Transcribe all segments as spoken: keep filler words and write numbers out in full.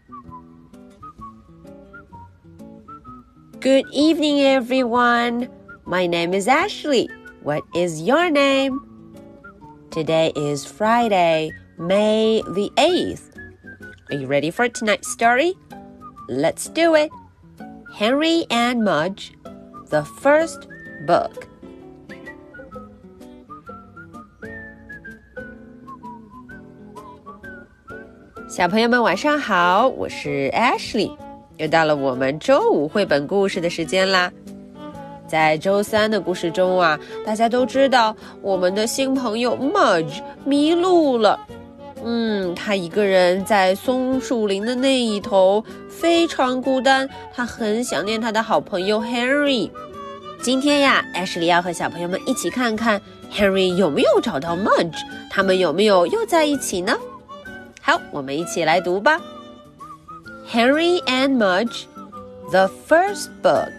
Good evening, everyone. My name is Ashley. What is your name? Today is Friday, May the eighth. Are you ready for tonight's story? Let's do it. Henry and Mudge, the first book.小朋友们晚上好，我是 Ashley， 又到了我们周五绘本故事的时间啦。在周三的故事中啊，大家都知道我们的新朋友 Mudge 迷路了。嗯，他一个人在松树林的那一头，非常孤单，他很想念他的好朋友 Henry。今天呀 Ashley 要和小朋友们一起看看 Henry 有没有找到 Mudge， 他们有没有又在一起呢？好，我们一起来读吧。Henry and Mudge, the first book.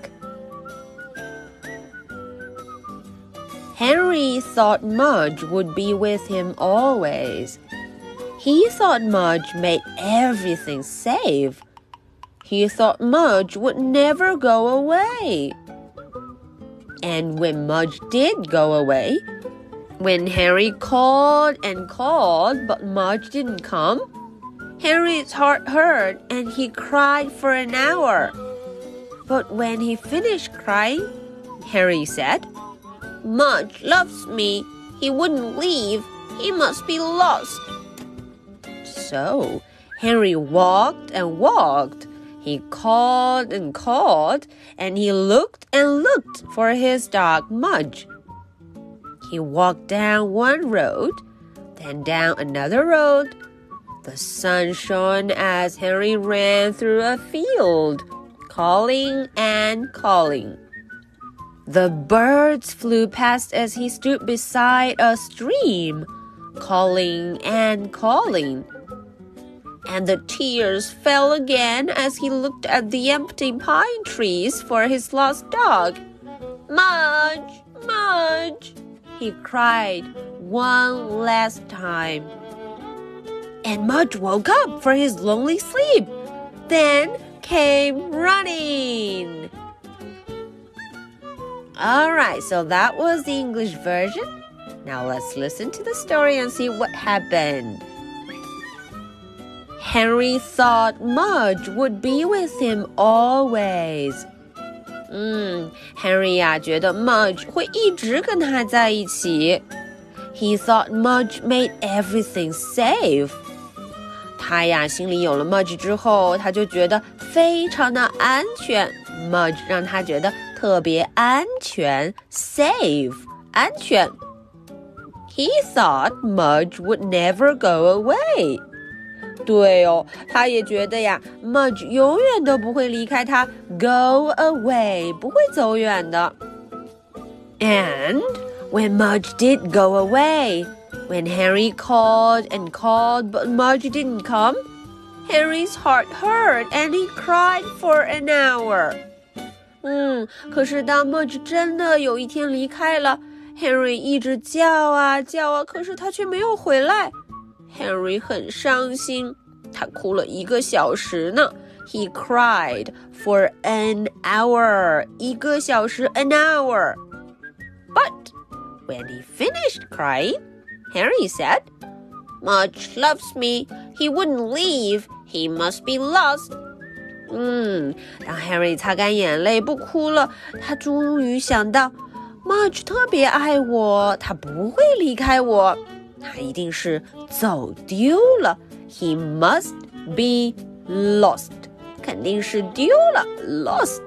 Henry thought Mudge would be with him always. He thought Mudge made everything safe. He thought Mudge would never go away. And when Mudge did go away, when Henry called and called, but Mudge didn't come, Henry's heart hurt and he cried for an hour. But when he finished crying, Henry said, Mudge loves me. He wouldn't leave. He must be lost. So, Henry walked and walked. He called and called, and he looked and looked for his dog Mudge. He walked down one road, then down another road. The sun shone as Henry ran through a field, calling and calling. The birds flew past as he stood beside a stream, calling and calling. And the tears fell again as he looked at the empty pine trees for his lost dog. Mudge, Mudge, he cried one last time. And Mudge woke up for his lonely sleep, then came running. Alright, so that was the English version. Now let's listen to the story and see what happened. Henry thought Mudge would be with him always. 嗯 Henry 呀觉得 Mudge 会一直跟他在一起。He thought Mudge made everything safe. 他呀心里有了 Mudge 之后，他就觉得非常的安全。Mudge 让他觉得特别安全 safe 安全。He thought Mudge would never go away. 对哦，他也觉得呀 Mudge 永远都不会离开他 go away 不会走远的。And when Mudge did go away, when Henry called and called but Mudge didn't come, Henry's heart hurt and he cried for an hour. 嗯，可是当 Mudge 真的有一天离开了 Henry 一直叫啊叫啊，可是他却没有回来。Henry 很伤心，他哭了一个小时呢。He cried for an hour. 一个小时 an hour. But when he finished crying, Henry said, Mudge loves me. He wouldn't leave. He must be lost. 嗯，当 Henry 擦干眼泪不哭了，他终于想到 Mudge 特别爱我，他不会离开我。他一定是走丢了 He must be lost 肯定是丢了 Lost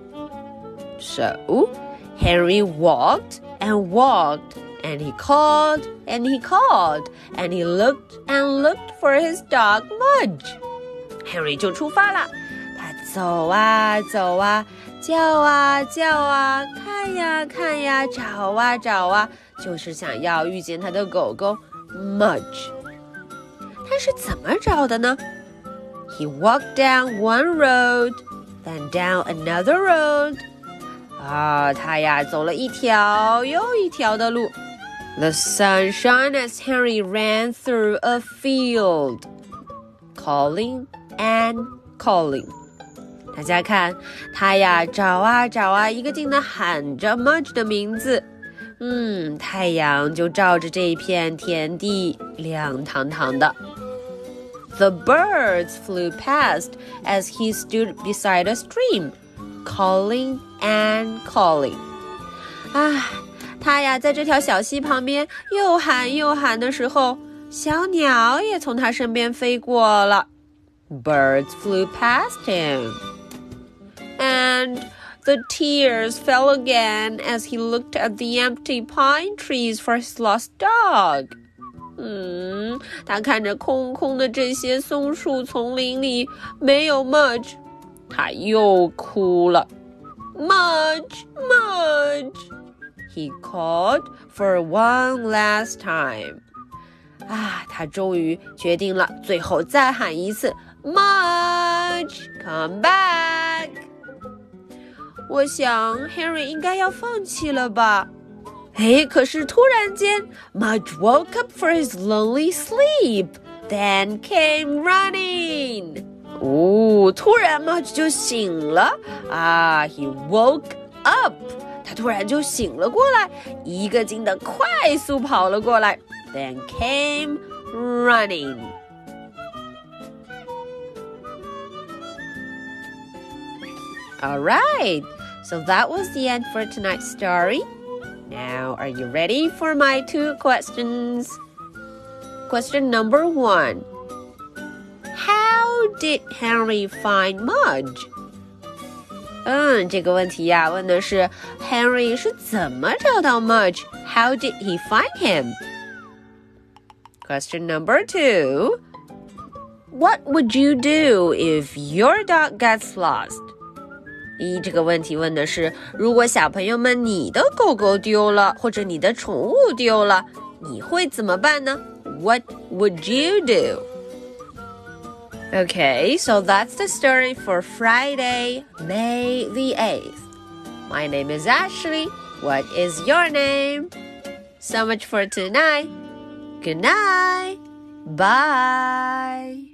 So Henry walked and walked And he called and he called And he looked and looked for his dog Mudge Henry 就出发了他走啊走啊叫啊叫啊看呀看呀找啊找啊就是想要遇见他的狗狗 Mudge 他是怎么找的呢 He walked down one road Then down another road 啊他呀走了一条又一条的路 The sun shone as Henry ran through a field Calling and calling。大家看，他呀找啊找啊，一个劲地喊着 Mudge 的名字。嗯，太阳就照着这一片田地，亮堂堂的。The birds flew past as he stood beside a stream, calling and calling. 啊，他呀在这条小溪旁边又喊又喊的时候，小鸟也从他身边飞过了。Birds flew past him. And the tears fell again as he looked at the empty pine trees for his lost dog. 嗯，他看着空空的这些松树丛林里没有 Mudge， 他又哭了。Mudge, Mudge, he called for one last time. 啊，他终于决定了，最后再喊一次 Mudge, come back. 我想 Henry 应该要放弃了吧。诶，可是突然间 Mudge woke up for his lonely sleep, then came running. 哦，突然 Mudge 就醒了啊 He woke up. 他突然就醒了过来，一个劲的快速跑了过来 then came running. All right, so that was the end for tonight's story. Now, are you ready for my two questions? Question number one. How did Henry find Mudge? 嗯，这个问题呀，问的是 Henry 是怎么找到 Mudge? How did he find him? Question number two. What would you do if your dog gets lost?一这个问题问的是，如果小朋友们你的狗狗丢了，或者你的宠物丢了，你会怎么办呢？ What would you do? Okay, so that's the story for Friday, May the eighth. My name is Ashley. What is your name? So much for tonight. Good night. Bye.